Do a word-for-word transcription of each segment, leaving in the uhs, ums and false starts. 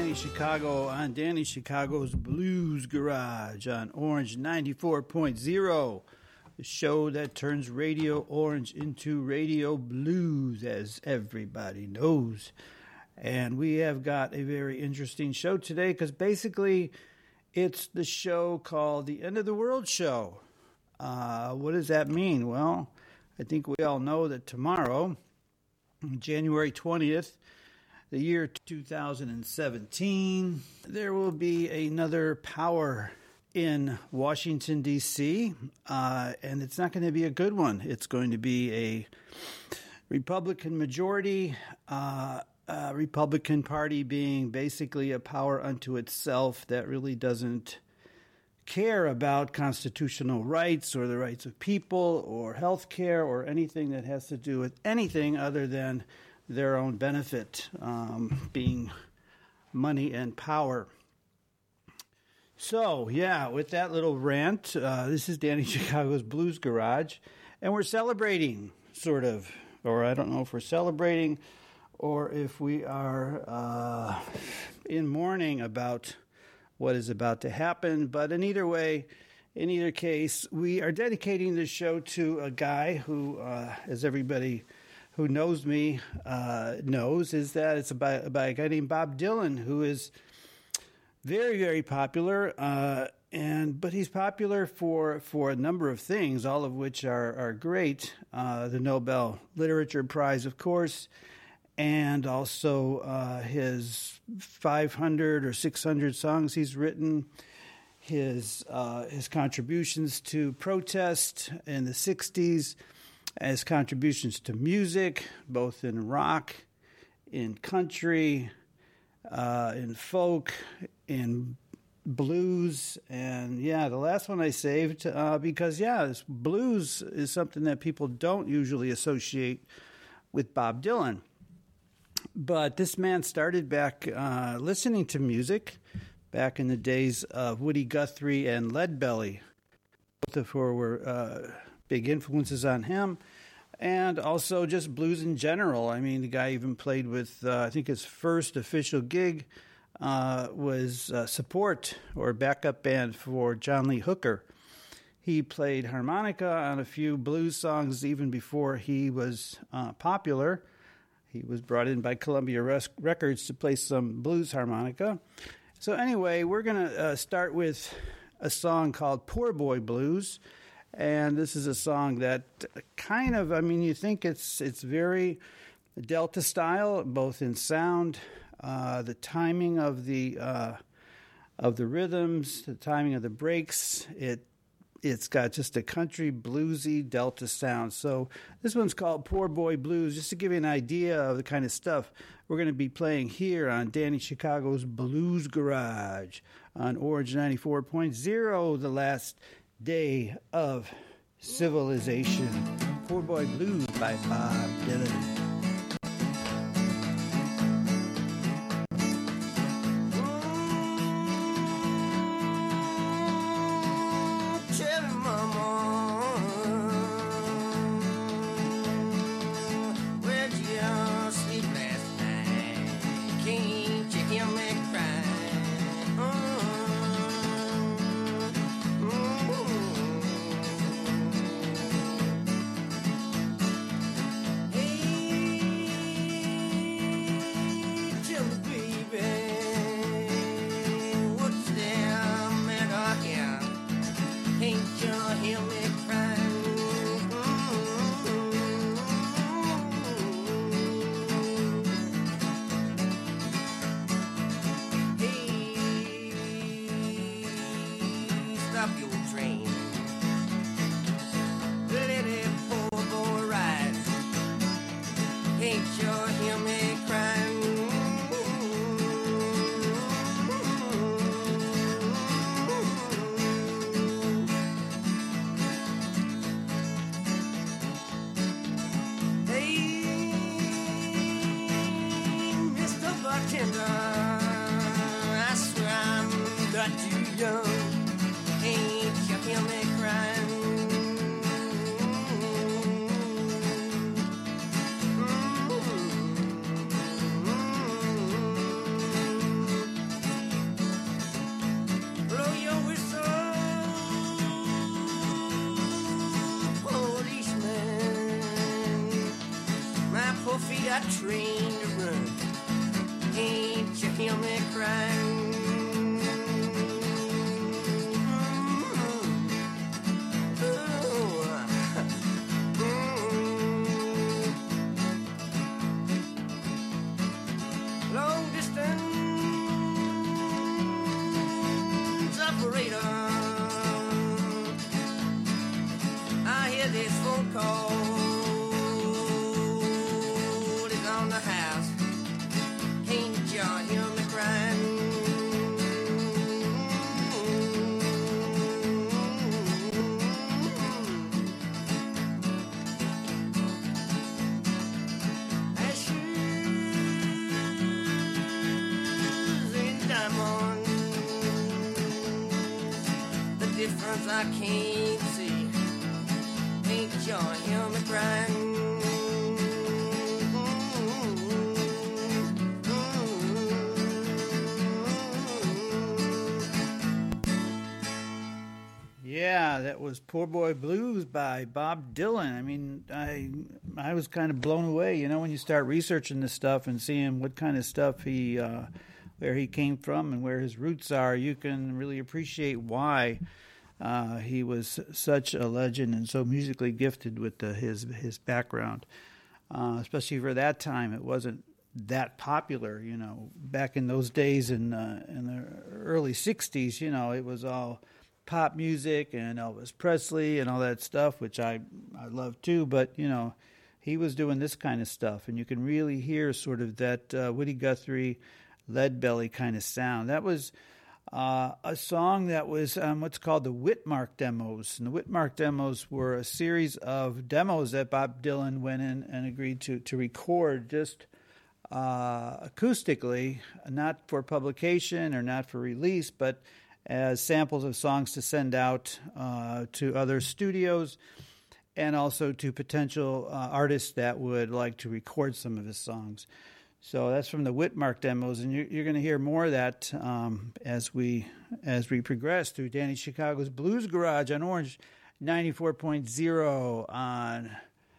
Danny Chicago on Danny Chicago's Blues Garage on Orange ninety-four point oh, the show that turns Radio Orange into Radio Blues, as everybody knows. And we have got a very interesting show today because basically it's the show called the End of the World Show. Uh, what does that mean? Well, I think we all know that tomorrow, January twentieth, the year two thousand seventeen, there will be another power in Washington, D C, uh, and it's not going to be a good one. It's going to be a Republican majority, uh, uh, Republican Party being basically a power unto itself that really doesn't care about constitutional rights or the rights of people or health care or anything that has to do with anything other than their own benefit, um, being money and power. So, yeah, with that little rant, uh, this is Danny Chicago's Blues Garage, and we're celebrating, sort of, or I don't know if we're celebrating or if we are uh, in mourning about what is about to happen, but in either way, in either case, we are dedicating this show to a guy who, uh, as everybody who knows me uh, knows, is that it's about, about a guy named Bob Dylan, who is very, very popular, uh, and but he's popular for, for a number of things, all of which are, are great. Uh, the Nobel Literature Prize, of course, and also uh, his five hundred or six hundred songs he's written, his uh, his contributions to protest in the sixties, as contributions to music, both in rock, in country, uh, in folk, in blues. And, yeah, the last one I saved uh, because, yeah, this blues is something that people don't usually associate with Bob Dylan. But this man started back uh, listening to music back in the days of Woody Guthrie and Leadbelly, both of who were uh, big influences on him, and also just blues in general. I mean, the guy even played with, uh, I think his first official gig uh, was uh, support or backup band for John Lee Hooker. He played harmonica on a few blues songs even before he was uh, popular. He was brought in by Columbia Records to play some blues harmonica. So anyway, we're going to uh, start with a song called Poor Boy Blues. And this is a song that kind of, I mean, you think it's it's very Delta style, both in sound, uh, the timing of the uh, of the rhythms, the timing of the breaks. It it's got just a country bluesy Delta sound. So this one's called Poor Boy Blues, just to give you an idea of the kind of stuff we're going to be playing here on Danny Chicago's Blues Garage on Orange ninety-four point oh, the last day of civilization. Poor Boy Blues by Bob Dylan. that train to run. Ain't you hear me crying? This phone call is on the house. Ain't you hear me crying? As shoes and diamonds, the difference I can't see. Ain't you hear me crying? Yeah, that was Poor Boy Blues by Bob Dylan. I mean, I I was kind of blown away, you know, when you start researching this stuff and seeing what kind of stuff he, uh, where he came from and where his roots are, you can really appreciate why Uh, he was such a legend and so musically gifted with the, his his background, uh, especially for that time. It wasn't that popular, you know. Back in those days, in uh, in the early sixties, you know, it was all pop music and Elvis Presley and all that stuff, which I I love too. But you know, he was doing this kind of stuff, and you can really hear sort of that uh, Woody Guthrie, Leadbelly kind of sound. That was Uh, a song that was um, what's called the Whitmark demos. And the Whitmark demos were a series of demos that Bob Dylan went in and agreed to, to record just uh, acoustically, not for publication or not for release, but as samples of songs to send out uh, to other studios and also to potential uh, artists that would like to record some of his songs. So that's from the Whitmark demos, and you're, you're going to hear more of that um, as we as we progress through Danny Chicago's Blues Garage on Orange ninety-four point oh on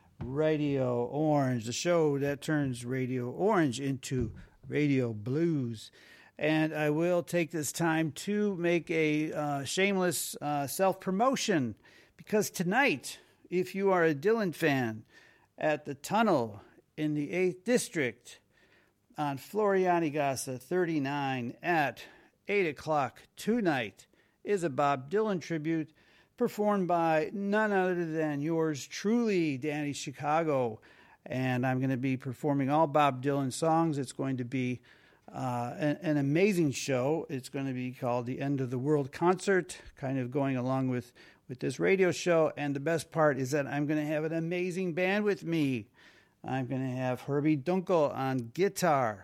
Radio Orange, the show that turns Radio Orange into Radio Blues. And I will take this time to make a uh, shameless uh, self-promotion, because tonight, if you are a Dylan fan, at the Tunnel in the eighth District, on Florianigasa thirty-nine at eight o'clock tonight is a Bob Dylan tribute performed by none other than yours truly, Danny Chicago. And I'm going to be performing all Bob Dylan songs. It's going to be uh, an, an amazing show. It's going to be called the End of the World Concert, kind of going along with, with this radio show. And the best part is that I'm going to have an amazing band with me. I'm going to have Herbie Dunkel on guitar.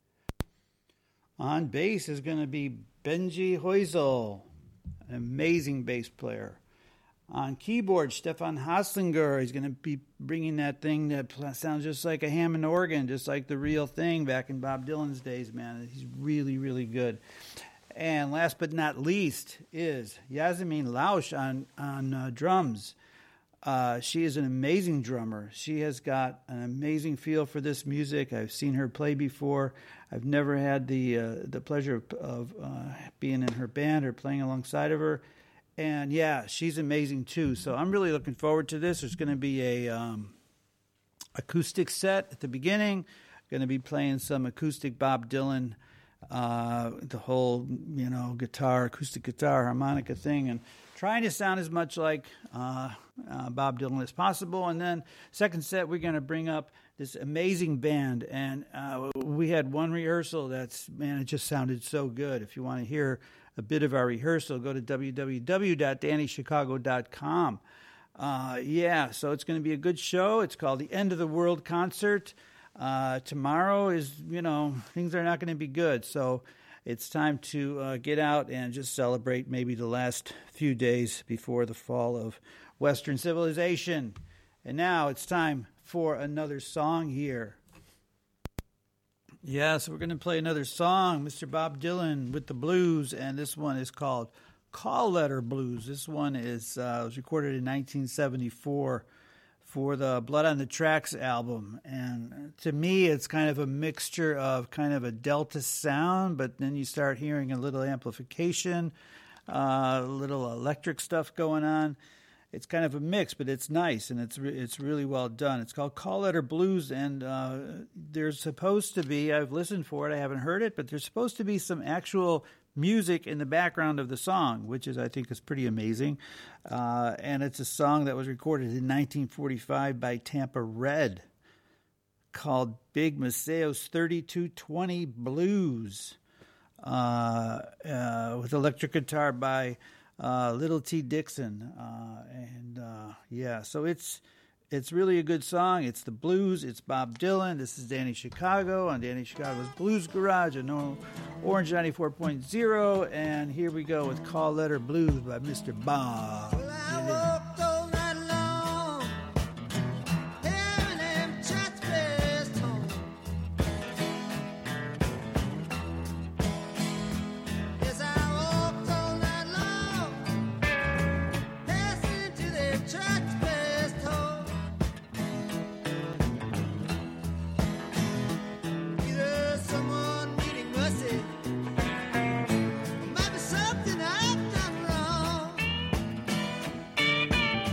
On bass is going to be Benji Heusel, an amazing bass player. On keyboard, Stefan Haslinger. He's going to be bringing that thing that sounds just like a Hammond organ, just like the real thing back in Bob Dylan's days, man. He's really, really good. And last but not least is Yasmin Lausch on, on uh, drums. Uh, she is an amazing drummer. She has got an amazing feel for this music. I've seen her play before. I've never had the uh, the pleasure of, of uh, being in her band or playing alongside of her. And yeah, she's amazing too. So I'm really looking forward to this. There's going to be a um, acoustic set at the beginning. Going to be playing some acoustic Bob Dylan, uh, the whole, you know, guitar, acoustic guitar, harmonica thing, and trying to sound as much like uh, uh, Bob Dylan as possible. And then second set, we're going to bring up this amazing band. And uh, we had one rehearsal that's, man, it just sounded so good. If you want to hear a bit of our rehearsal, go to w w w dot danny chicago dot com. Uh, yeah, so it's going to be a good show. It's called the End of the World Concert. Uh, tomorrow is, you know, things are not going to be good. So it's time to uh, get out and just celebrate maybe the last few days before the fall of Western civilization. And now it's time for another song here. Yeah, so we're going to play another song, Mister Bob Dylan with the blues, and this one is called Call Letter Blues. This one is uh, was recorded in nineteen seventy-four for the Blood on the Tracks album. And to me, it's kind of a mixture of kind of a Delta sound, but then you start hearing a little amplification, uh, a little electric stuff going on. It's kind of a mix, but it's nice, and it's re- it's really well done. It's called Call Letter Blues, and uh, there's supposed to be, I've listened for it, I haven't heard it, but there's supposed to be some actual music in the background of the song, which is, I think, is pretty amazing. Uh, and it's a song that was recorded in nineteen forty-five by Tampa Red, called Big Maceo's thirty-two twenty Blues, uh, uh, with electric guitar by uh, Little T. Dixon. Uh, and uh, yeah, so it's it's really a good song. It's the blues. It's Bob Dylan. This is Danny Chicago on Danny Chicago's Blues Garage on Orange ninety-four point oh. And here we go with Call Letter Blues by Mister Bob Dylan. Something I've done wrong.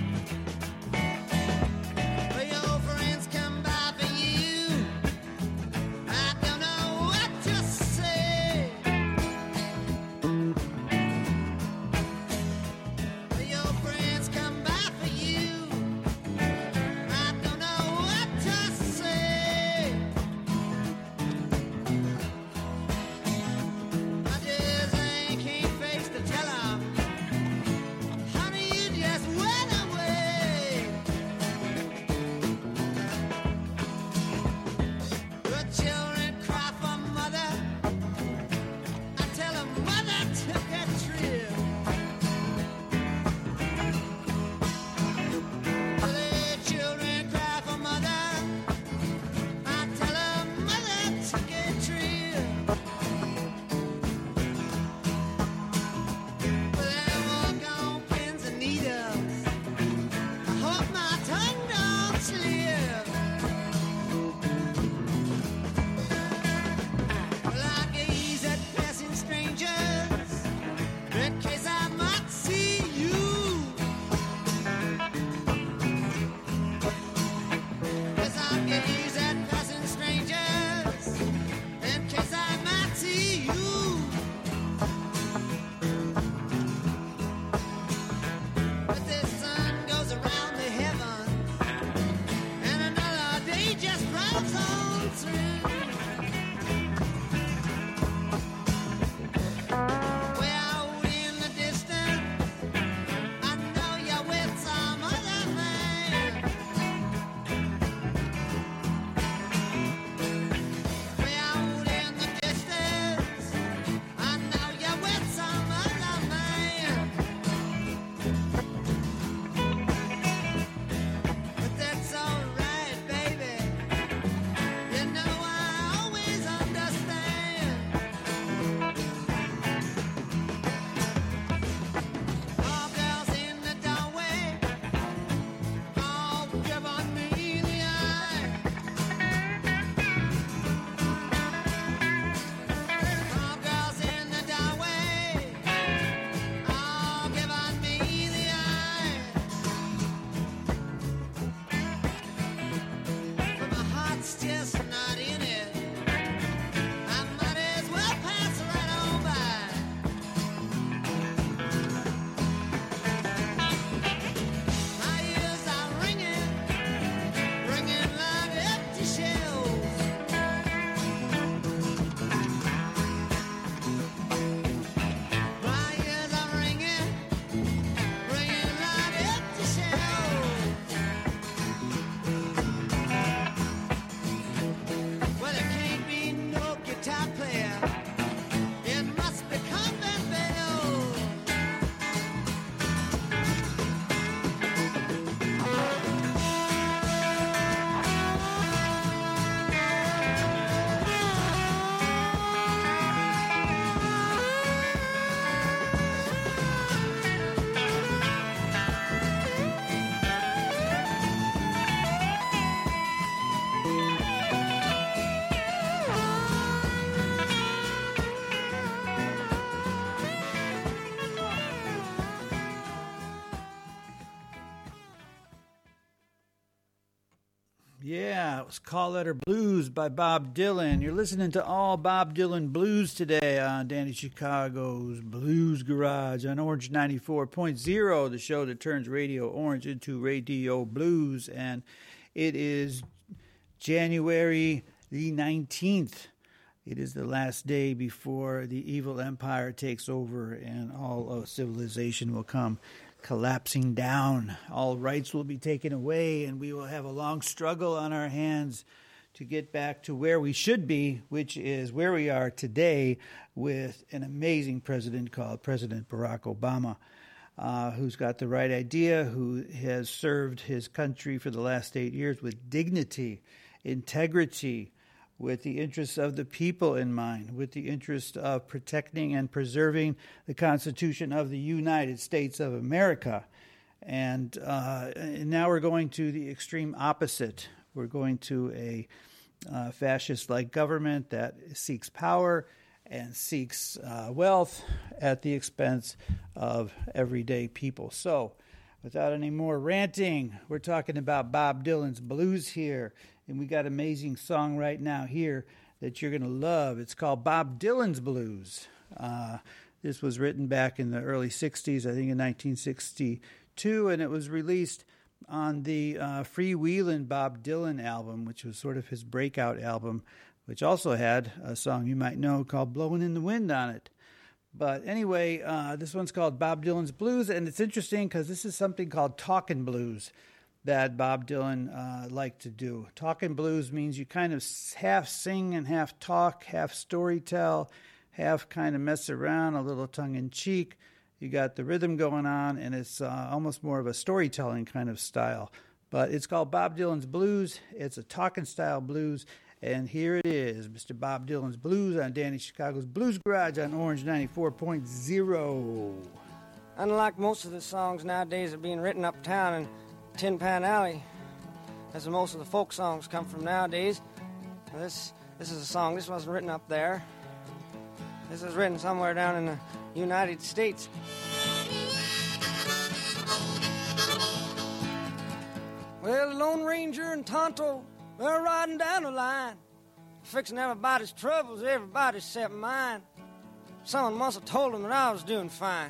Yeah, it was Call Letter Blues by Bob Dylan. You're listening to all Bob Dylan blues today on Danny Chicago's Blues Garage on Orange ninety-four point oh, the show that turns Radio Orange into Radio Blues. And it is January the nineteenth. It is the last day before the evil empire takes over and all of civilization will come collapsing down. All rights will be taken away, and we will have a long struggle on our hands to get back to where we should be, which is where we are today with an amazing president called President Barack Obama, uh, who's got the right idea, who has served his country for the last eight years with dignity, integrity, with the interests of the people in mind, with the interest of protecting and preserving the Constitution of the United States of America. And, uh, and now we're going to the extreme opposite. We're going to a uh, fascist-like government that seeks power and seeks uh, wealth at the expense of everyday people. So, without any more ranting, we're talking about Bob Dylan's blues here. And we got an amazing song right now here that you're going to love. It's called Bob Dylan's Blues. Uh, this was written back in the early sixties, I think in nineteen sixty-two, and it was released on the uh, Freewheelin' Bob Dylan album, which was sort of his breakout album, which also had a song you might know called Blowin' in the Wind on it. But anyway, uh, this one's called Bob Dylan's Blues, and it's interesting because this is something called talkin' blues that Bob Dylan uh, liked to do. Talkin' blues means you kind of half sing and half talk, half storytell, half kind of mess around, a little tongue-in-cheek. You got the rhythm going on, and it's uh, almost more of a storytelling kind of style. But it's called Bob Dylan's Blues. It's a talking-style blues. And here it is, Mister Bob Dylan's Blues on Danny Chicago's Blues Garage on Orange ninety-four point oh. Unlike most of the songs nowadays that are being written uptown in Tin Pan Alley, as most of the folk songs come from nowadays, this this is a song, this wasn't written up there. This is written somewhere down in the United States. Well, the Lone Ranger and Tonto, they're riding down the line, fixing everybody's troubles, everybody except mine. Someone must have told them that I was doing fine.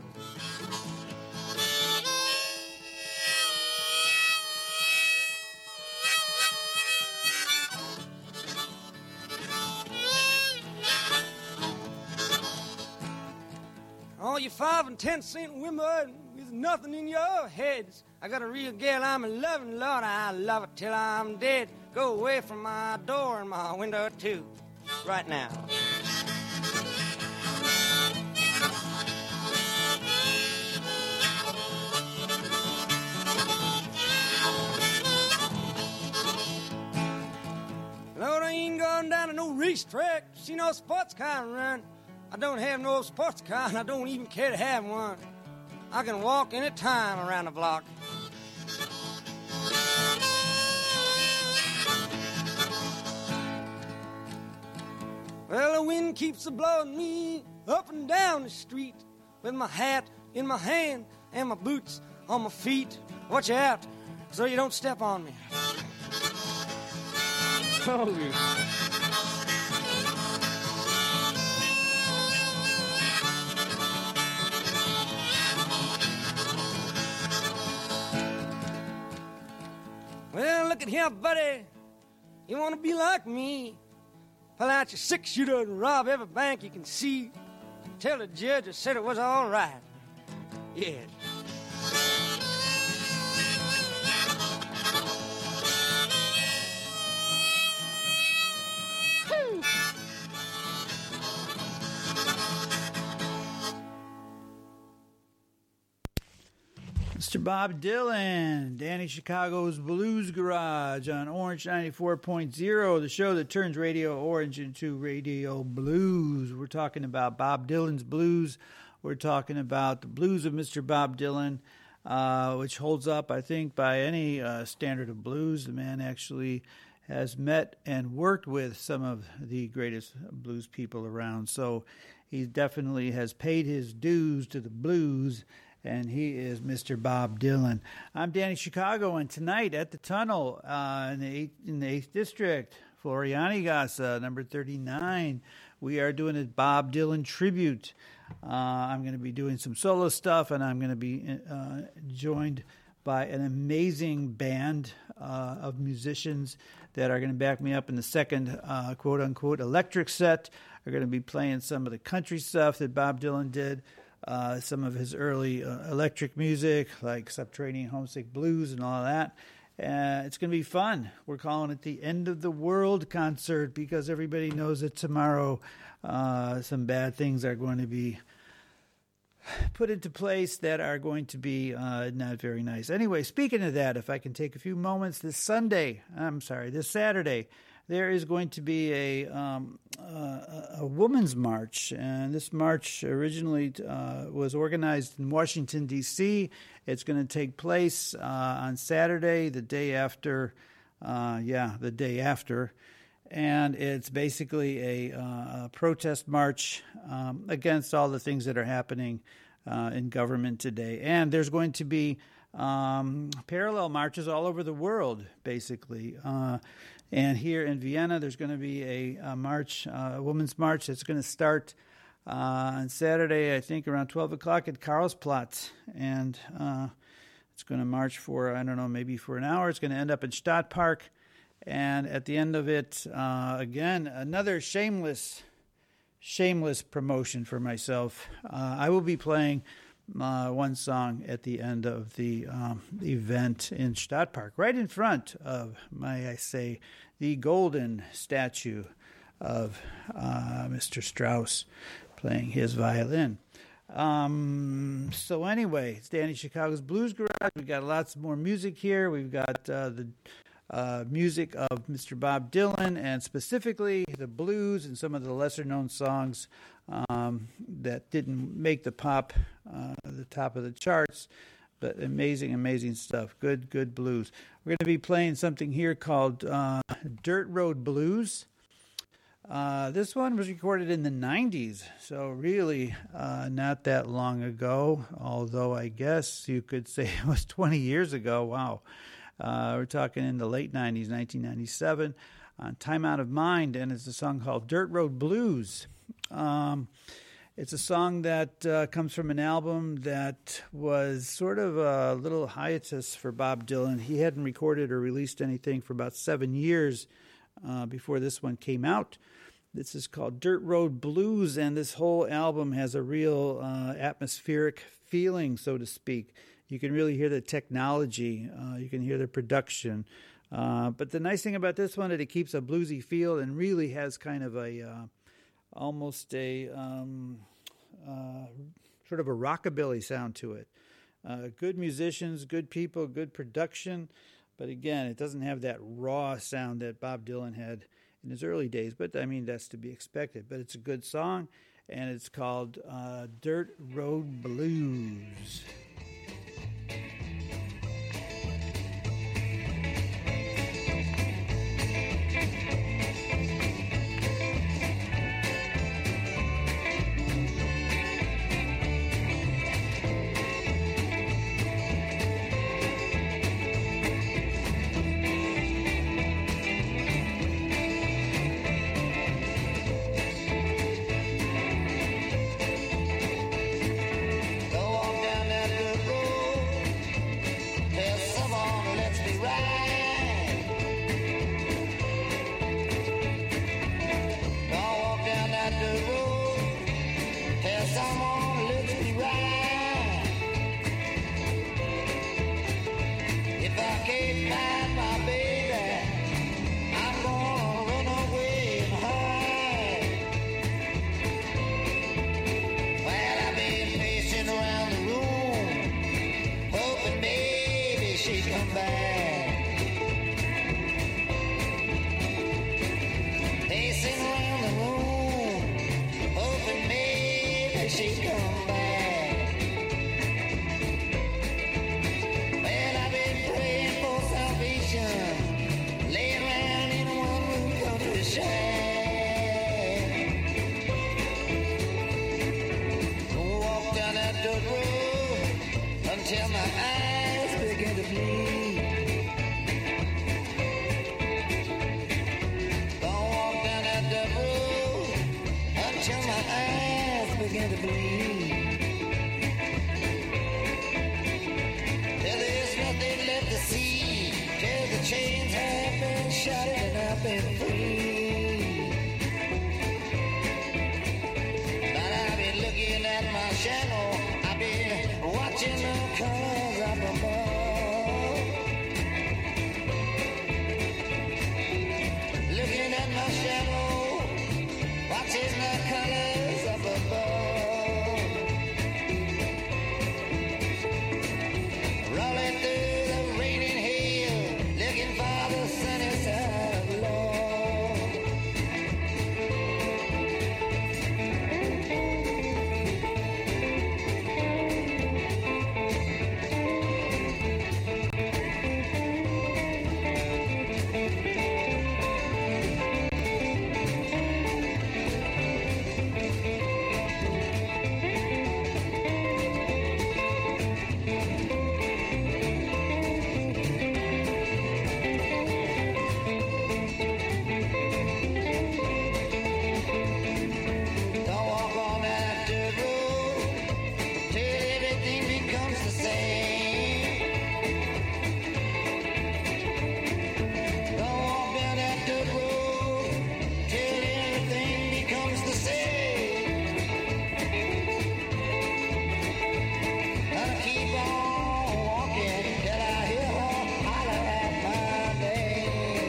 All you five and ten cent women with nothing in your heads. I got a real gal I'm in loving, Lord, I love it till I'm dead. Go away from my door and my window too, right now. Lord, I ain't going down to no racetrack, see no sports car run. I don't have no sports car, and I don't even care to have one. I can walk any time around the block. Well, the wind keeps a-blowing me up and down the street with my hat in my hand and my boots on my feet. Watch out so you don't step on me. Oh, well, look at here, buddy. You want to be like me? Pull out your six-shooter and rob every bank you can see. Tell the judge I said it was all right. Yeah. Mister Bob Dylan, Danny Chicago's Blues Garage on Orange ninety-four point oh, the show that turns Radio Orange into Radio Blues. We're talking about Bob Dylan's blues. We're talking about the blues of Mister Bob Dylan, uh, which holds up, I think, by any uh, standard of blues. The man actually has met and worked with some of the greatest blues people around. So he definitely has paid his dues to the blues. and he is Mister Bob Dylan. I'm Danny Chicago, and tonight at the Tunnel uh, in the eighth, in the eighth District, Florianigasse, number thirty-nine, we are doing a Bob Dylan tribute. Uh, I'm going to be doing some solo stuff, and I'm going to be uh, joined by an amazing band uh, of musicians that are going to back me up in the second uh, quote-unquote electric set. Are going to be playing some of the country stuff that Bob Dylan did, uh, some of his early uh, electric music, like Subterranean Homesick Blues and all of that. Uh, it's going to be fun. We're calling it the End of the World concert because everybody knows that tomorrow uh, some bad things are going to be put into place that are going to be uh, not very nice. Anyway, speaking of that, if I can take a few moments, this Sunday, I'm sorry, this Saturday, there is going to be a um, uh, a women's march, and this march originally uh, was organized in Washington, D C It's going to take place uh, on Saturday, the day after, uh, yeah, the day after, and it's basically a, uh, a protest march um, against all the things that are happening uh, in government today. And there's going to be um, parallel marches all over the world, basically. Uh, and here in Vienna, there's going to be a, a march, uh, a women's march that's going to start uh, on Saturday, I think, around twelve o'clock at Karlsplatz. And uh, it's going to march for, I don't know, maybe for an hour. It's going to end up in Stadtpark. And at the end of it, uh, again, another shameless, shameless promotion for myself. Uh, I will be playing uh, one song at the end of the um, event in Stadtpark, right in front of, may I say, the golden statue of uh, Mister Strauss playing his violin. Um, so anyway, it's Danny Chicago's Blues Garage. We've got lots more music here. We've got uh, the Uh, music of Mister Bob Dylan, and specifically the blues and some of the lesser-known songs um, that didn't make the pop, uh, the top of the charts, but amazing, amazing stuff. Good, good blues. We're going to be playing something here called uh, Dirt Road Blues. Uh, this one was recorded in the nineties, so really uh, not that long ago, although I guess you could say it was twenty years ago. Wow. Uh, we're talking in the late nineties, nineteen ninety-seven, on Time Out of Mind, and it's a song called Dirt Road Blues. Um, it's a song that uh, comes from an album that was sort of a little hiatus for Bob Dylan. He hadn't recorded or released anything for about seven years uh, before this one came out. This is called Dirt Road Blues, and this whole album has a real uh, atmospheric feeling, so to speak. You can really hear the technology. Uh, you can hear the production. Uh, but the nice thing about this one is it keeps a bluesy feel and really has kind of a uh, almost a um, uh, sort of a rockabilly sound to it. Uh, good musicians, good people, good production. But again, it doesn't have that raw sound that Bob Dylan had in his early days. But I mean, that's to be expected. But it's a good song, and it's called uh, Dirt Road Blues. begin to bleed. Don't walk down that dirt road until my eyes begin to bleed. Till there's nothing left to see, till the chains have been shot and I've been free. But I've been looking at my shadow, I've been watching the colors up above. Looking at my shadow, watching the colors up above. Rolling through the raining hail, looking for the sunny side of love. Don't walk on that dirt road till everything becomes the same. Don't walk down that dirt road till everything becomes the same. Gotta keep on walking till I hear her holler at my name.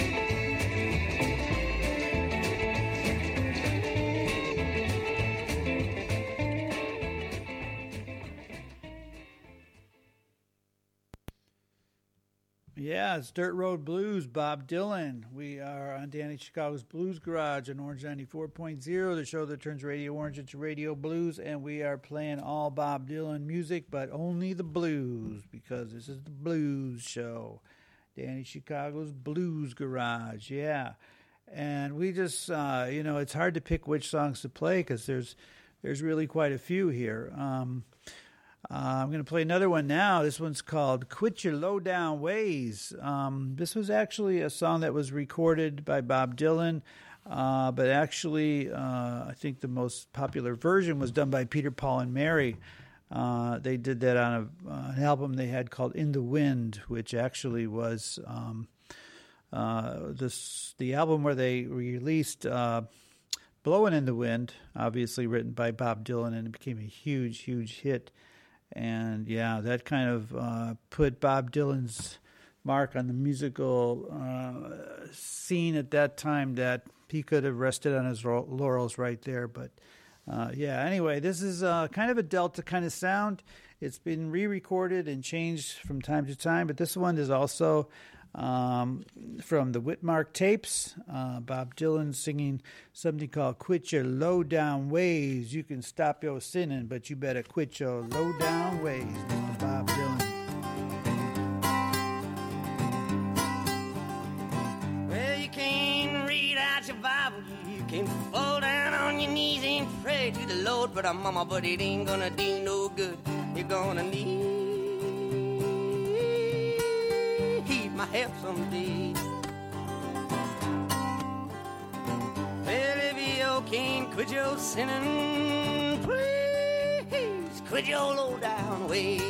Yeah, it's Dirt Road Blues, Bob Dylan. We are on Danny Chicago's Blues Garage on Orange ninety-four point oh, the show that turns Radio Orange into Radio Blues, and we are playing all Bob Dylan music, but only the blues, because this is the blues show. Danny Chicago's Blues Garage, yeah. And we just, uh, you know, it's hard to pick which songs to play, because there's, there's really quite a few here. Um... Uh, I'm going to play another one now. This one's called Quit Your Low Down Ways. Um, this was actually a song that was recorded by Bob Dylan, uh, but actually uh, I think the most popular version was done by Peter, Paul, and Mary. Uh, they did that on a, uh, an album they had called In the Wind, which actually was um, uh, this the album where they released uh, Blowin' in the Wind, obviously written by Bob Dylan, and it became a huge, huge hit. And, yeah, that kind of uh, put Bob Dylan's mark on the musical uh, scene at that time, that he could have rested on his laurels right there. But, uh, yeah, anyway, this is uh, kind of a Delta kind of sound. It's been re-recorded and changed from time to time, but this one is also um, from the Whitmark tapes. Uh, Bob Dylan singing something called Quit Your Low Down Ways. You can stop your sinning, but you better quit your low down ways, Mister Bob Dylan. Well, you can read out your Bible, you can fall down on your knees and pray to the Lord, but uh, mama, but it ain't gonna do no good. You're gonna need my help someday. Well, if you can't quit your sinning, please quit your low down ways.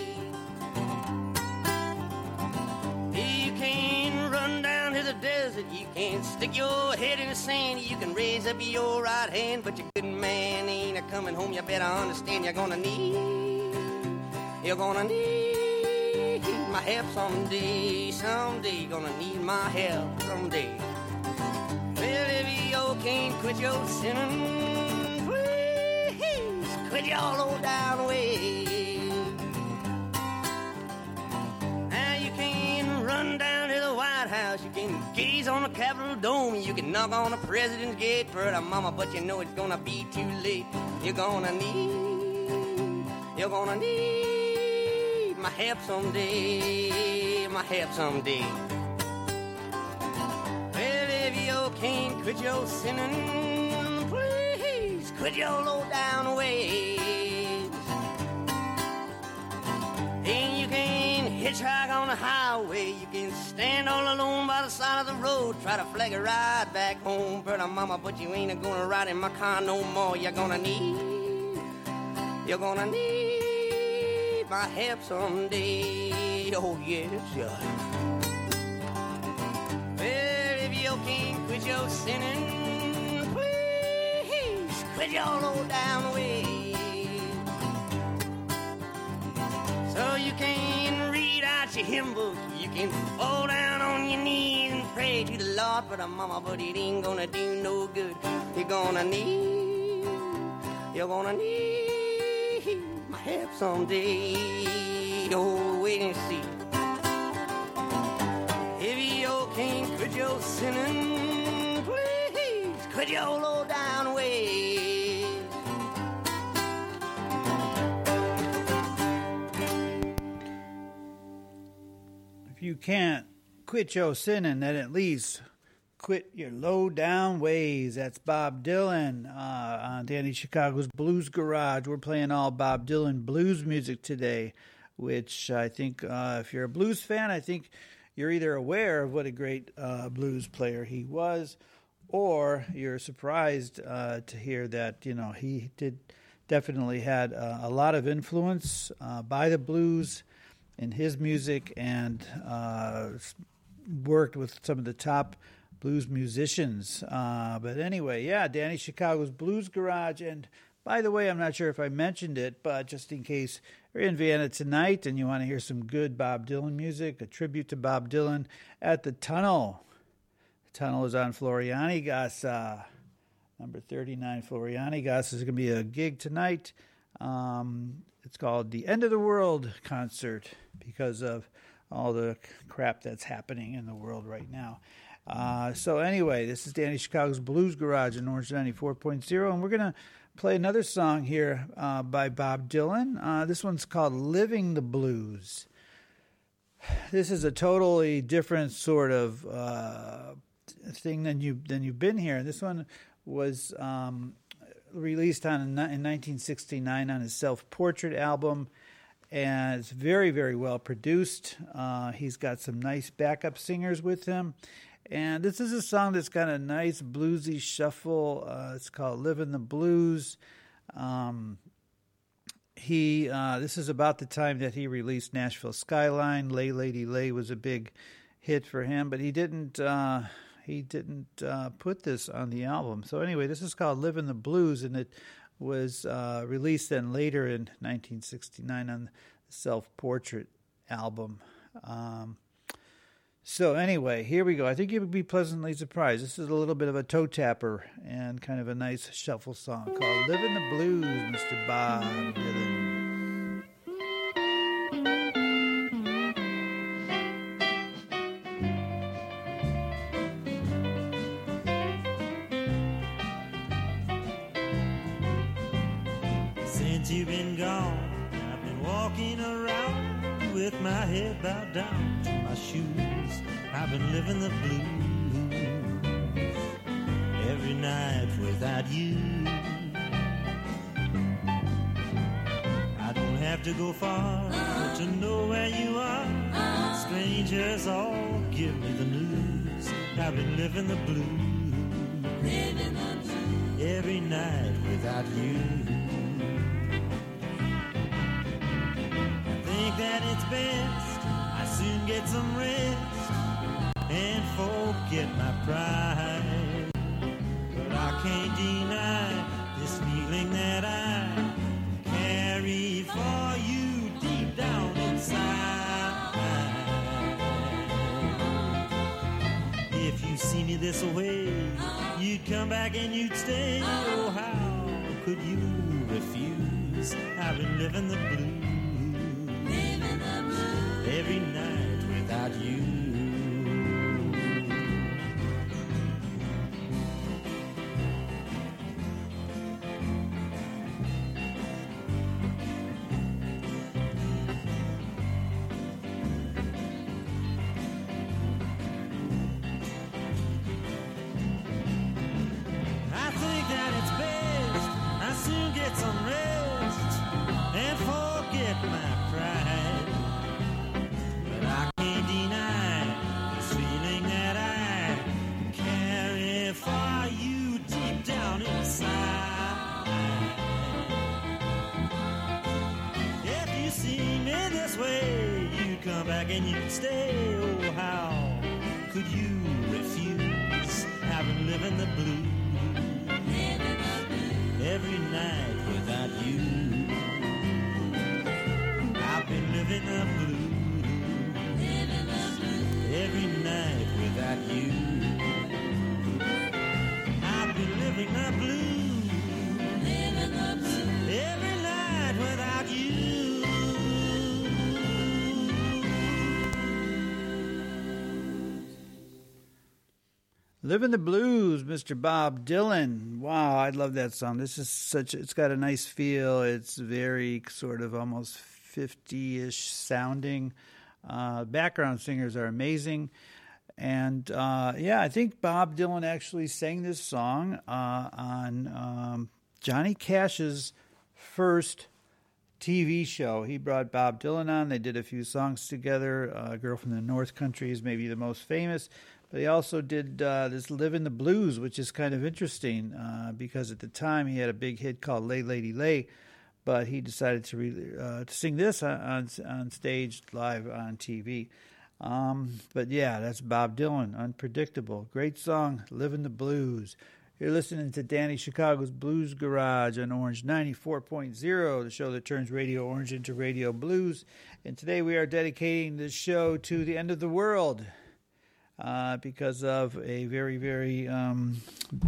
You can run down to the desert, you can stick your head in the sand, you can raise up your right hand, but your good man ain't a coming home. You better understand you're gonna need, you're gonna need my help someday, someday. You're gonna need my help someday. Well, if you can't quit your sinning, please quit your low down ways. Now you can run down to the White House, you can gaze on the Capitol Dome, you can knock on the President's gate for the mama, but you know it's gonna be too late. You're gonna need, you're gonna need my help someday, my help someday. Well, if you can't quit your sinning, please quit your low down ways. And you can hitchhike on the highway. You can stand all alone by the side of the road, try to flag a ride back home, brother, mama, but you ain't gonna ride in my car no more. You're gonna need, you're gonna need my help someday. Oh yes, yeah. Well, if you can't quit your sinning, please quit your low down ways. So you can read out your hymn book, you can fall down on your knees and pray to the Lord, but a mama, but it ain't gonna do no good. You're gonna need, you're gonna need my help someday. Oh, wait and see. If you can't quit your sinning, please quit your low down ways. If you can't quit your sinning, then at least quit your low down ways. That's Bob Dylan uh, on Danny Chicago's Blues Garage. We're playing all Bob Dylan blues music today, which I think uh, if you're a blues fan, I think you're either aware of what a great uh, blues player he was, or you're surprised uh, to hear that, you know, he did definitely had uh, a lot of influence uh, by the blues in his music, and uh, worked with some of the top blues musicians. Uh, but anyway, yeah, Danny Chicago's Blues Garage. And by the way, I'm not sure if I mentioned it, but just in case you're in Vienna tonight and you want to hear some good Bob Dylan music, a tribute to Bob Dylan at the Tunnel. The Tunnel is on Florianigas, number thirty-nine Florianigas. There's going to be a gig tonight. Um, it's called the End of the World Concert because of all the crap that's happening in the world right now. Uh, so anyway, this is Danny Chicago's Blues Garage in Orange ninety-four point oh, and we're going to play another song here uh, by Bob Dylan. Uh, this one's called Living the Blues. This is a totally different sort of uh, thing than, you, than you've been here. This one was um, released on in nineteen sixty-nine on his self-portrait album, and it's very, very well produced. Uh, he's got some nice backup singers with him, and this is a song that's got a nice bluesy shuffle. Uh, it's called "Living the Blues." Um, he uh, this is about the time that he released Nashville Skyline. "Lay Lady Lay" was a big hit for him, but he didn't. Uh, He didn't uh, put this on the album. So anyway, this is called "Living the Blues," and it was uh, released then later in nineteen sixty-nine on the Self-Portrait album. Um, so anyway, here we go. I think you would be pleasantly surprised. This is a little bit of a toe tapper and kind of a nice shuffle song called "Living the Blues," Mister Bob Dylan. You've been gone, I've been walking around with my head bowed down to my shoes. I've been living the blues every night without you. I don't have to go far to know where you are. Strangers all give me the news. I've been living the blues, living the blues every night without you. That it's best I soon get some rest and forget my pride, but I can't deny this feeling that I carry for you deep down inside. If you see me this way, you'd come back and you'd stay. Oh, how could you refuse? I've been living the blues every night without you. I think that it's best I soon get some rest and forget my pride. begging you to stay. Oh, how could you refuse having living the blues? Every night without you, I've been living the blues. Every night without you, I've been living the blues. Every night without you. Living the Blues, Mister Bob Dylan. Wow, I love that song. This is such, it's got a nice feel. It's very sort of almost fifty-ish sounding. Uh, background singers are amazing. And uh, yeah, I think Bob Dylan actually sang this song uh, on um, Johnny Cash's first T V show. He brought Bob Dylan on. They did a few songs together. Uh, Girl from the North Country is maybe the most famous. But he also did uh, this Livin' the Blues, which is kind of interesting uh, because at the time he had a big hit called Lay Lady Lay, but he decided to, re- uh, to sing this on, on on stage live on T V. Um, but yeah, that's Bob Dylan, Unpredictable. Great song, Livin' the Blues. You're listening to Danny Chicago's Blues Garage on Orange ninety-four point oh, the show that turns Radio Orange into Radio Blues. And today we are dedicating this show to the end of the world. Uh, because of a very, very um,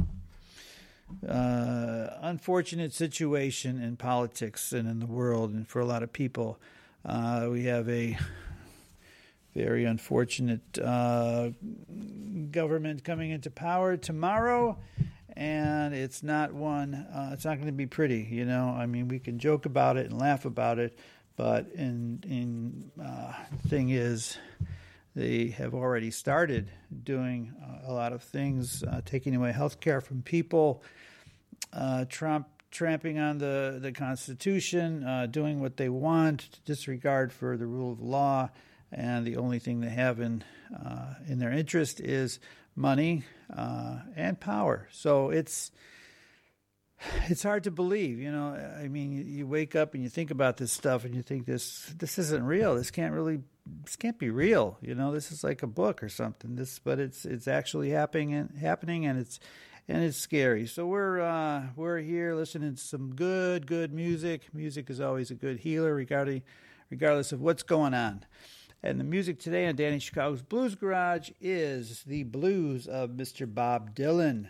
uh, unfortunate situation in politics and in the world and for a lot of people. Uh, we have a very unfortunate uh, government coming into power tomorrow, and it's not one, uh, it's not going to be pretty, you know. I mean, we can joke about it and laugh about it, but in, in uh, the thing is, they have already started doing uh, a lot of things, uh, taking away health care from people, uh, Trump tramping on the, the Constitution, uh, doing what they want, disregard for the rule of law, and the only thing they have in uh, in their interest is money uh, and power. So it's it's hard to believe, you know. I mean, you, you wake up and you think about this stuff, and you think this this isn't real. This can't really. This can't be real, you know. This is like a book or something. This, but it's it's actually happening and happening, and it's and it's scary. So we're uh, we're here listening to some good good music. Music is always a good healer, regarding regardless of what's going on. And the music today on Danny Chicago's Blues Garage is the blues of Mister Bob Dylan.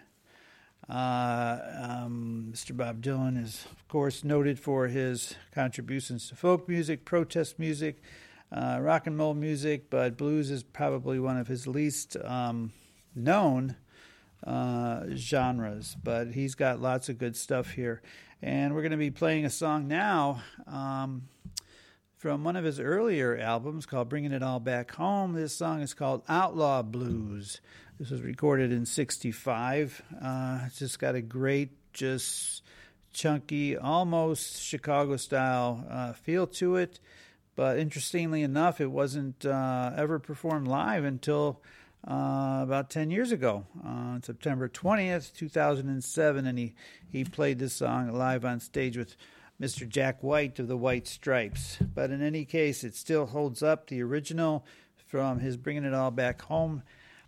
Uh, um, Mister Bob Dylan is, of course, noted for his contributions to folk music, protest music. Uh, rock and roll music, but blues is probably one of his least um, known uh, genres. But he's got lots of good stuff here. And we're going to be playing a song now um, from one of his earlier albums called Bringing It All Back Home. This song is called Outlaw Blues. This was recorded in sixty-five. Uh, it's just got a great, just chunky, almost Chicago-style uh, feel to it. But interestingly enough, it wasn't uh, ever performed live until uh, about ten years ago, uh, on September twentieth, two thousand seven, and he, he played this song live on stage with Mister Jack White of the White Stripes. But in any case, it still holds up. The original from his Bringing It All Back Home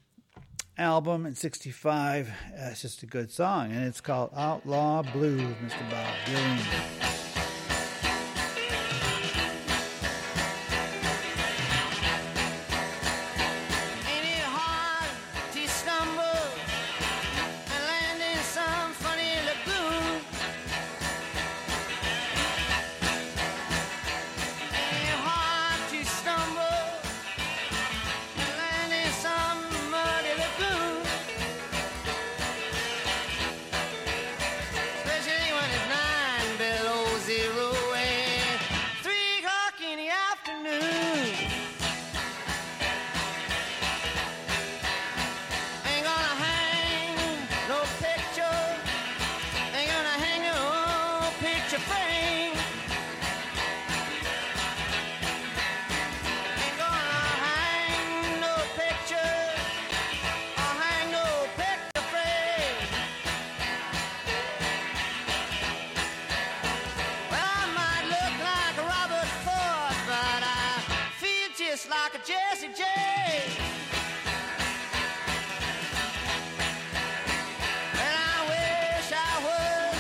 album in sixty-five, uh, it's just a good song, and it's called Outlaw Blues, Mister Bob Dylan. Especially when it's nine below zero. like a Jesse J. And I wish I was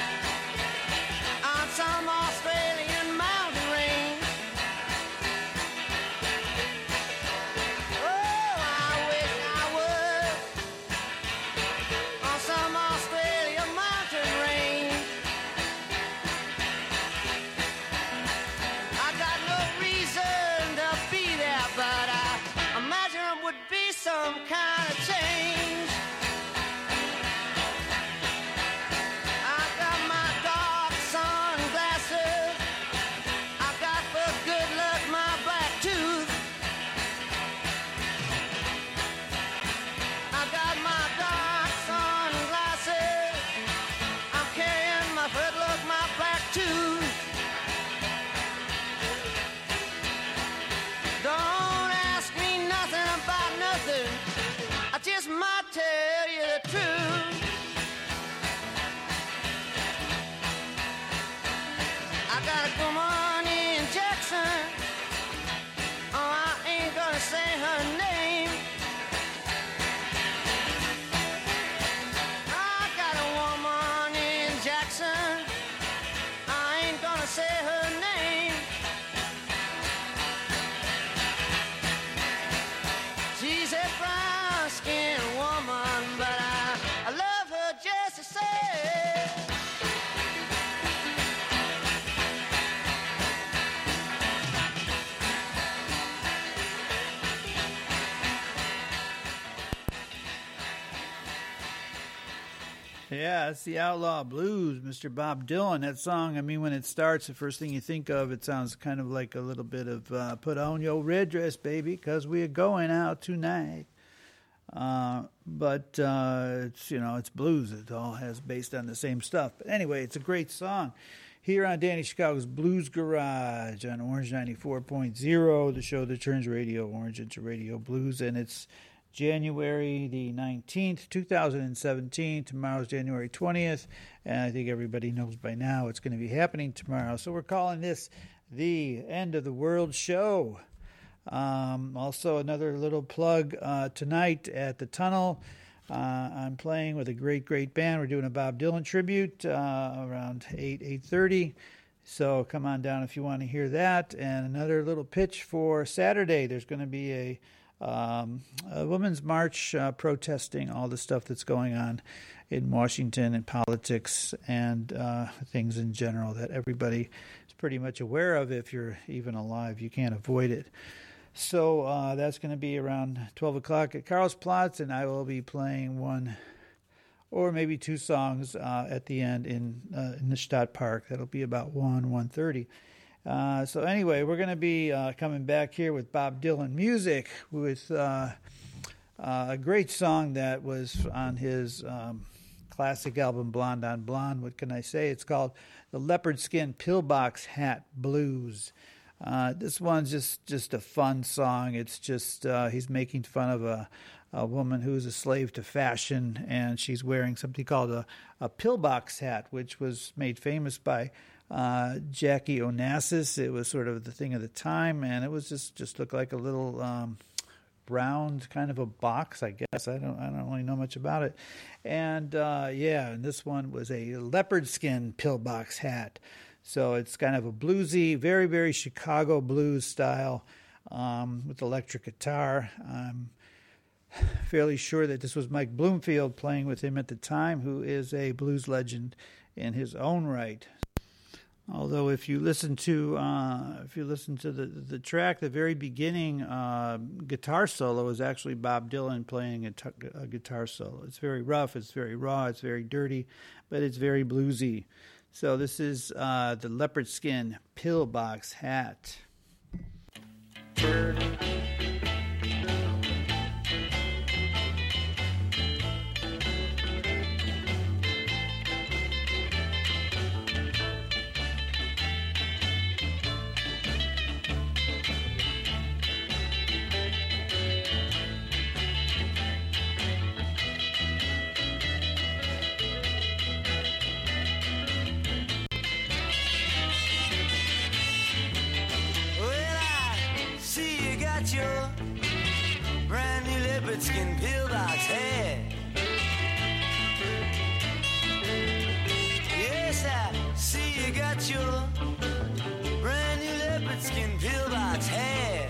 on some Australian mountain range. Oh, I wish I was on some Australian mountain range. I got no reason to be there, but I imagine it would be some kind of change. I got my dark sunglasses. I got for good luck my black tooth. I got my dark sunglasses. I'm carrying my good luck, my black tooth. Don't ask me nothing about nothing. I just might tell you the truth. I got a woman in Jackson. Oh, I ain't gonna say her name. I got a woman in Jackson. I ain't gonna say her name. She's a brown-skinned woman, but I, I love her just the same. Yeah, it's the Outlaw Blues, Mister Bob Dylan. That song, I mean, when it starts, the first thing you think of, it sounds kind of like a little bit of uh, put on your red dress, baby, because we're going out tonight. Uh, but uh, it's, you know, it's blues. It all has based on the same stuff. But anyway, it's a great song. Here on Danny Chicago's Blues Garage on Orange ninety-four point oh, the show that turns Radio Orange into Radio Blues, and it's January the nineteenth, two thousand seventeen. Tomorrow's January twentieth, and I think everybody knows by now it's going to be happening tomorrow. So we're calling this the End of the World Show. Um, also, another little plug uh, tonight at the Tunnel. Uh, I'm playing with a great, great band. We're doing a Bob Dylan tribute uh, around eight, eight thirty. So come on down if you want to hear that. And another little pitch for Saturday. There's going to be a Um, a women's march uh, protesting all the stuff that's going on in Washington and politics and uh, things in general that everybody is pretty much aware of. If you're even alive, you can't avoid it. So uh, that's going to be around twelve o'clock at Karlsplatz, and I will be playing one or maybe two songs uh, at the end in, uh, in the Stadtpark. That'll be about one, one thirty. Uh, so anyway, we're going to be uh, coming back here with Bob Dylan music with uh, uh, a great song that was on his um, classic album Blonde on Blonde. What can I say? It's called The Leopard Skin Pillbox Hat Blues. Uh, this one's just, just a fun song. It's just uh, he's making fun of a, a woman who's a slave to fashion, and she's wearing something called a, a pillbox hat, which was made famous by Uh, Jackie Onassis. It was sort of the thing of the time, and it was just, just looked like a little um, round kind of a box, I guess. I don't I don't really know much about it. And uh, yeah, and this one was a leopard skin pillbox hat. So it's kind of a bluesy, very, very Chicago blues style um, with electric guitar. I'm fairly sure that this was Mike Bloomfield playing with him at the time, who is a blues legend in his own right. Although, if you listen to uh, if you listen to the the track, the very beginning uh, guitar solo is actually Bob Dylan playing a, t- a guitar solo. It's very rough, it's very raw, it's very dirty, but it's very bluesy. So this is uh, the leopard skin pillbox hat. got your brand new leopard skin pillbox hat. Yes, I see you got your brand new leopard skin pillbox hat.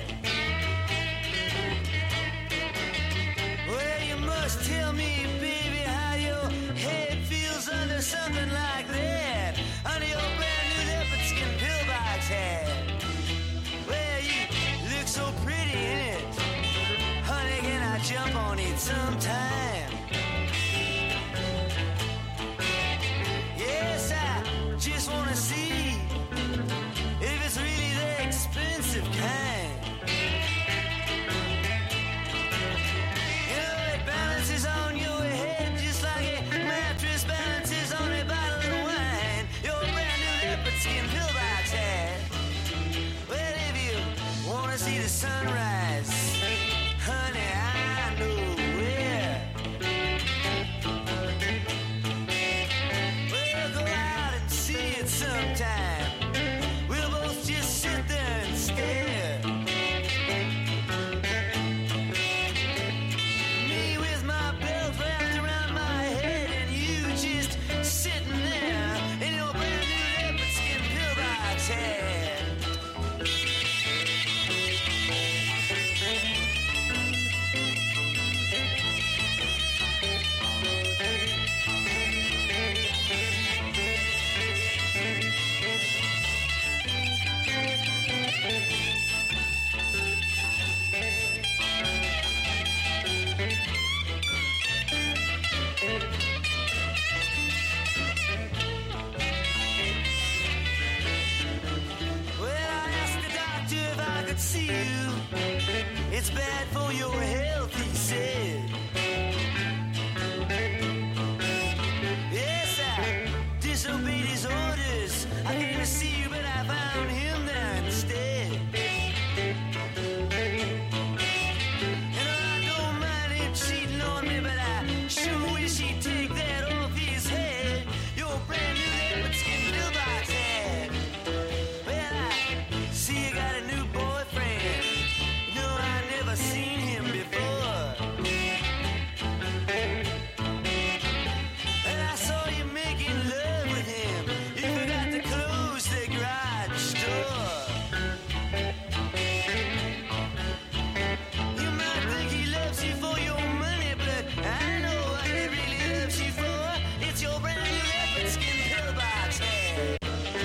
Well, you must tell me, baby, how your head feels under something like that, under your brand new leopard skin pillbox hat. Well, you look so pretty in it, honey, can I jump on it sometime? Yes, I just wanna see if it's really the expensive kind. You know, it balances on your head just like a mattress balances on a bottle of wine. Your brand new leopard skin pillbox hat. Well, if you wanna see the sunrise, honey, I know where. Well, go out and see it sometime. We'll both just sit there and stare. Me with my belt wrapped around my head, and you just sitting there in your brand new leopard skin pillbox hat. Well, I asked the doctor if I could see you. It's bad for your health, he said. Yes, I disobeyed his orders. I came to see you, but I found him there instead. And I don't mind him cheating on me, but I sure wish he'd take that off his head. Your brand new leopard skin pillbox hat. Well, I see you got a new boyfriend. No, I never seen him before. And I saw you making love with him. You forgot to close the garage door. You might think he loves you for your money, but I know what he really loves you for. It's your brand new leopard skin pillbox hat.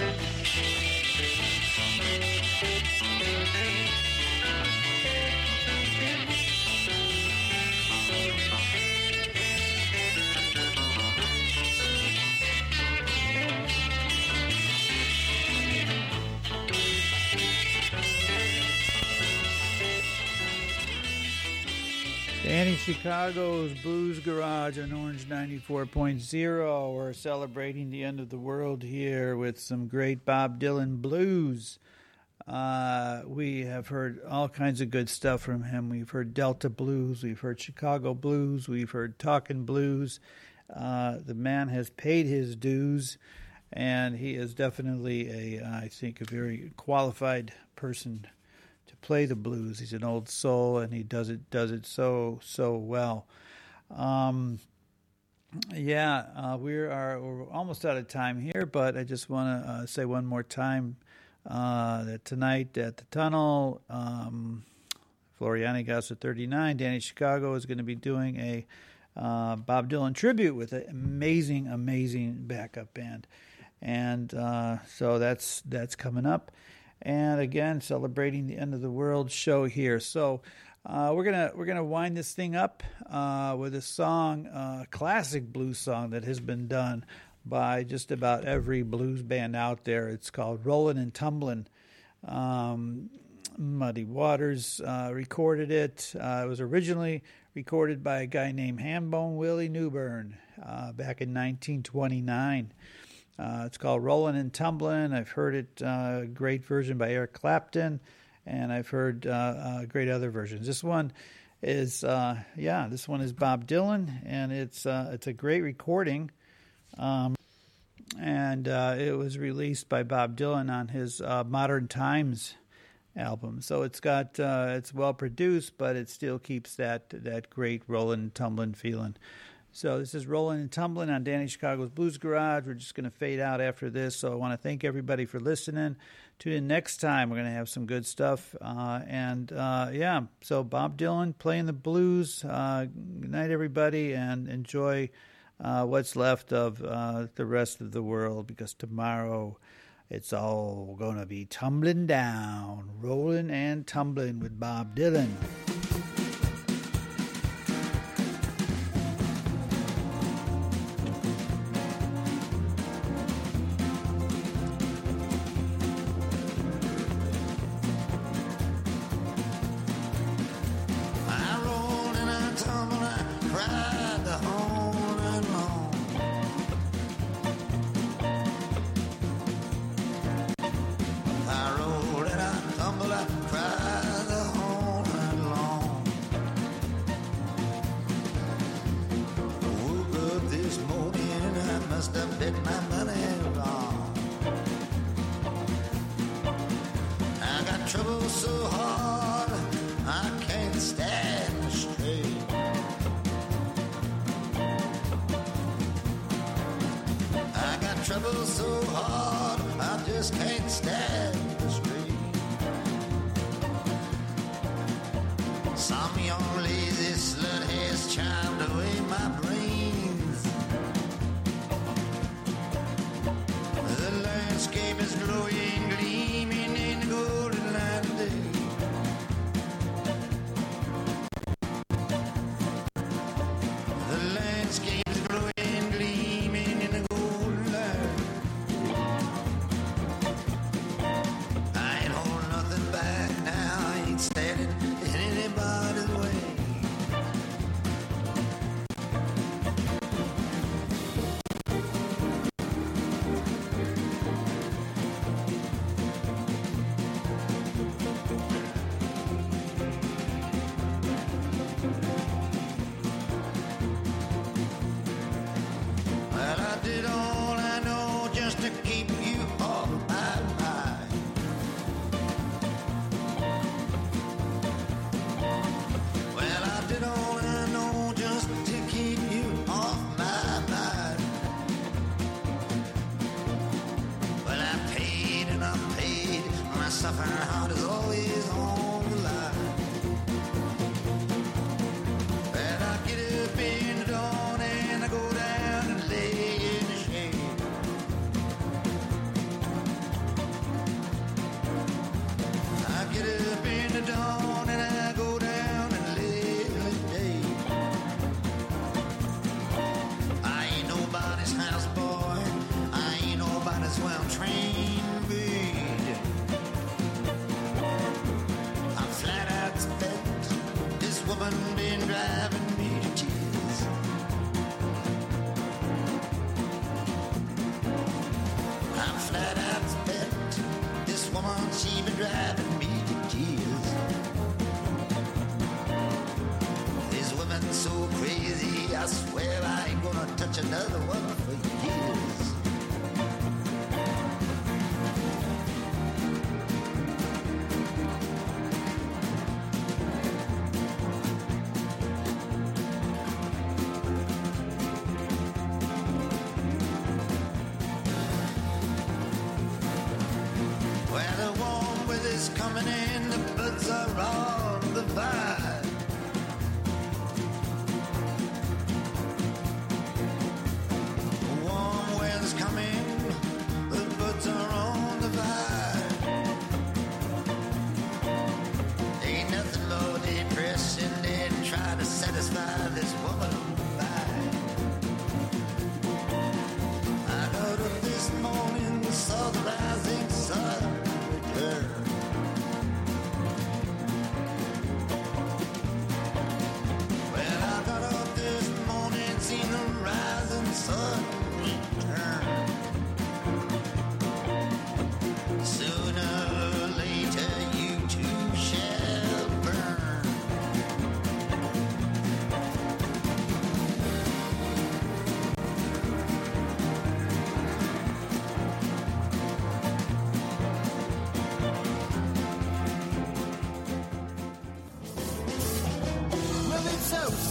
Danny Chicago's Blues Garage on Orange ninety-four point oh. We're celebrating the end of the world here with some great Bob Dylan blues. Uh, we have heard all kinds of good stuff from him. We've heard Delta Blues, we've heard Chicago Blues, we've heard Talkin' Blues. Uh, the man has paid his dues, and he is definitely, a, I think, a very qualified person to play the blues. He's an old soul, and he does it does it so so well. Um, yeah, uh, we are we're almost out of time here, but I just want to uh, say one more time uh, that tonight at the Tunnel, um, Floriani Gassa thirty-nine, Danny Chicago is going to be doing a uh, Bob Dylan tribute with an amazing, amazing backup band, and uh, so that's that's coming up. And again, celebrating the end of the world show here. So uh, we're gonna we're gonna wind this thing up uh, with a song, a uh, classic blues song that has been done by just about every blues band out there. It's called "Rollin' and Tumblin'." Um, Muddy Waters uh, recorded it. Uh, it was originally recorded by a guy named Hambone Willie Newburn uh, back in nineteen twenty-nine. Uh, it's called Rollin' and Tumblin'. I've heard it, uh, great version by Eric Clapton, and I've heard uh, uh, great other versions. This one is, uh, yeah, this one is Bob Dylan, and it's uh, it's a great recording. Um, and uh, it was released by Bob Dylan on his uh, Modern Times album. So it's got uh, it's well produced, but it still keeps that that great rolling and tumbling feeling. So this is Rolling and Tumbling on Danny Chicago's Blues Garage. We're just going to fade out after this. So I want to thank everybody for listening. Tune in next time. We're going to have some good stuff. Uh, and, uh, yeah, so Bob Dylan playing the blues. Uh, good night, everybody, and enjoy uh, what's left of uh, the rest of the world, because tomorrow it's all going to be tumbling down, rolling and tumbling with Bob Dylan.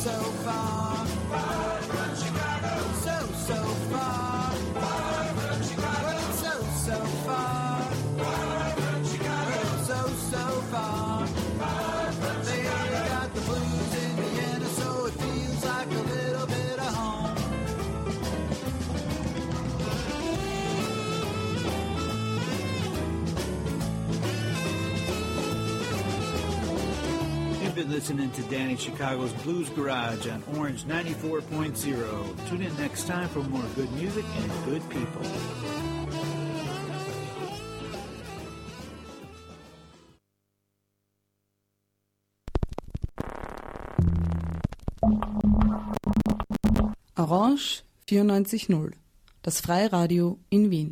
so far. Far from Chicago. So, so far. Far from Chicago. Well, it's so, so far. Far from Chicago. So, so far. Far from they Chicago. Got the blues in Vienna, so it feels like a little bit of home. You've been listening to Danny Chicago's Blues Garage on Orange ninety-four point oh. Tune in next time for more good music and good people. Orange vierundneunzig null, das Freiradio in Wien.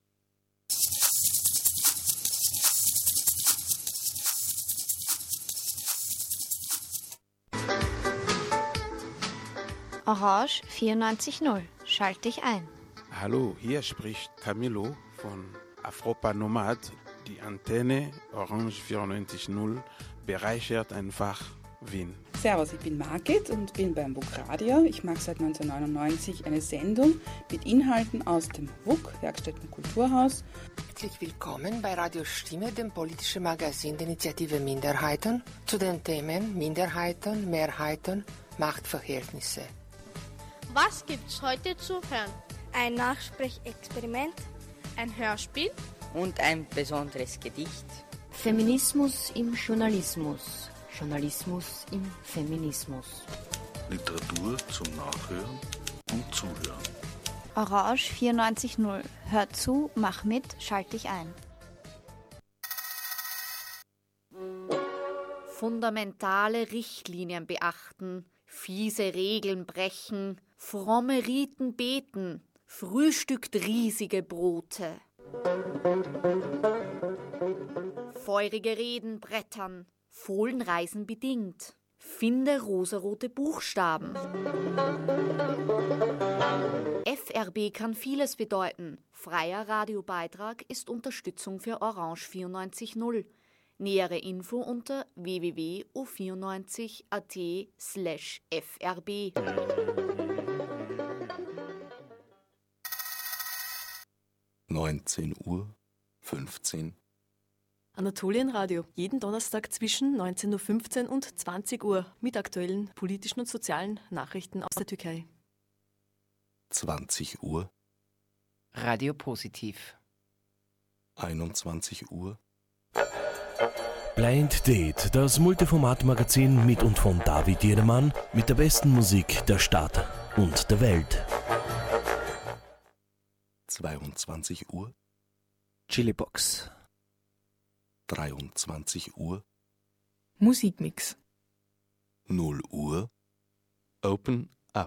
Orange vierundneunzig null, schalt dich ein. Hallo, hier spricht Camilo von Afropa Nomad. Die Antenne Orange vierundneunzig null bereichert einfach Wien. Servus, ich bin Margit und bin beim W U K Radio. Ich mache seit neunzehnhundertneunundneunzig eine Sendung mit Inhalten aus dem W U K, Werkstätten Kulturhaus. Herzlich willkommen bei Radio Stimme, dem politischen Magazin der Initiative Minderheiten, zu den Themen Minderheiten, Mehrheiten, Machtverhältnisse. Was gibt's heute zu hören? Ein Nachsprechexperiment, ein Hörspiel und ein besonderes Gedicht. Feminismus im Journalismus. Journalismus im Feminismus. Literatur zum Nachhören und Zuhören. Orange vierundneunzig null. Hör zu, mach mit, schalt dich ein. Fundamentale Richtlinien beachten, fiese Regeln brechen, fromme Riten beten, frühstückt riesige Brote. Feurige Reden brettern, Fohlenreisen bedingt, finde rosarote Buchstaben. F R B kann vieles bedeuten. Freier Radiobeitrag ist Unterstützung für Orange vierundneunzig null. Nähere Info unter w w w punkt o vierundneunzig punkt a t slash f r b. neunzehn Uhr fünfzehn. Anatolienradio, jeden Donnerstag zwischen neunzehn Uhr fünfzehn und zwanzig Uhr mit aktuellen politischen und sozialen Nachrichten aus der Türkei. zwanzig Uhr. Radio Positiv. einundzwanzig Uhr. Blind Date, das Multiformat-Magazin mit und von David Jedermann mit der besten Musik der Stadt und der Welt. zweiundzwanzig Uhr. Chilibox. dreiundzwanzig Uhr. Musikmix. null Uhr. Open Up.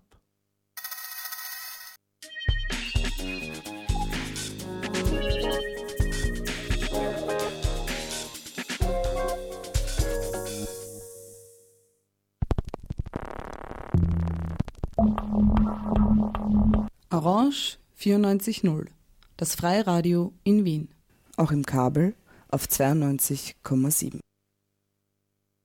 Orange vierundneunzig null, das Freiradio in Wien. Auch im Kabel auf zweiundneunzig Komma sieben.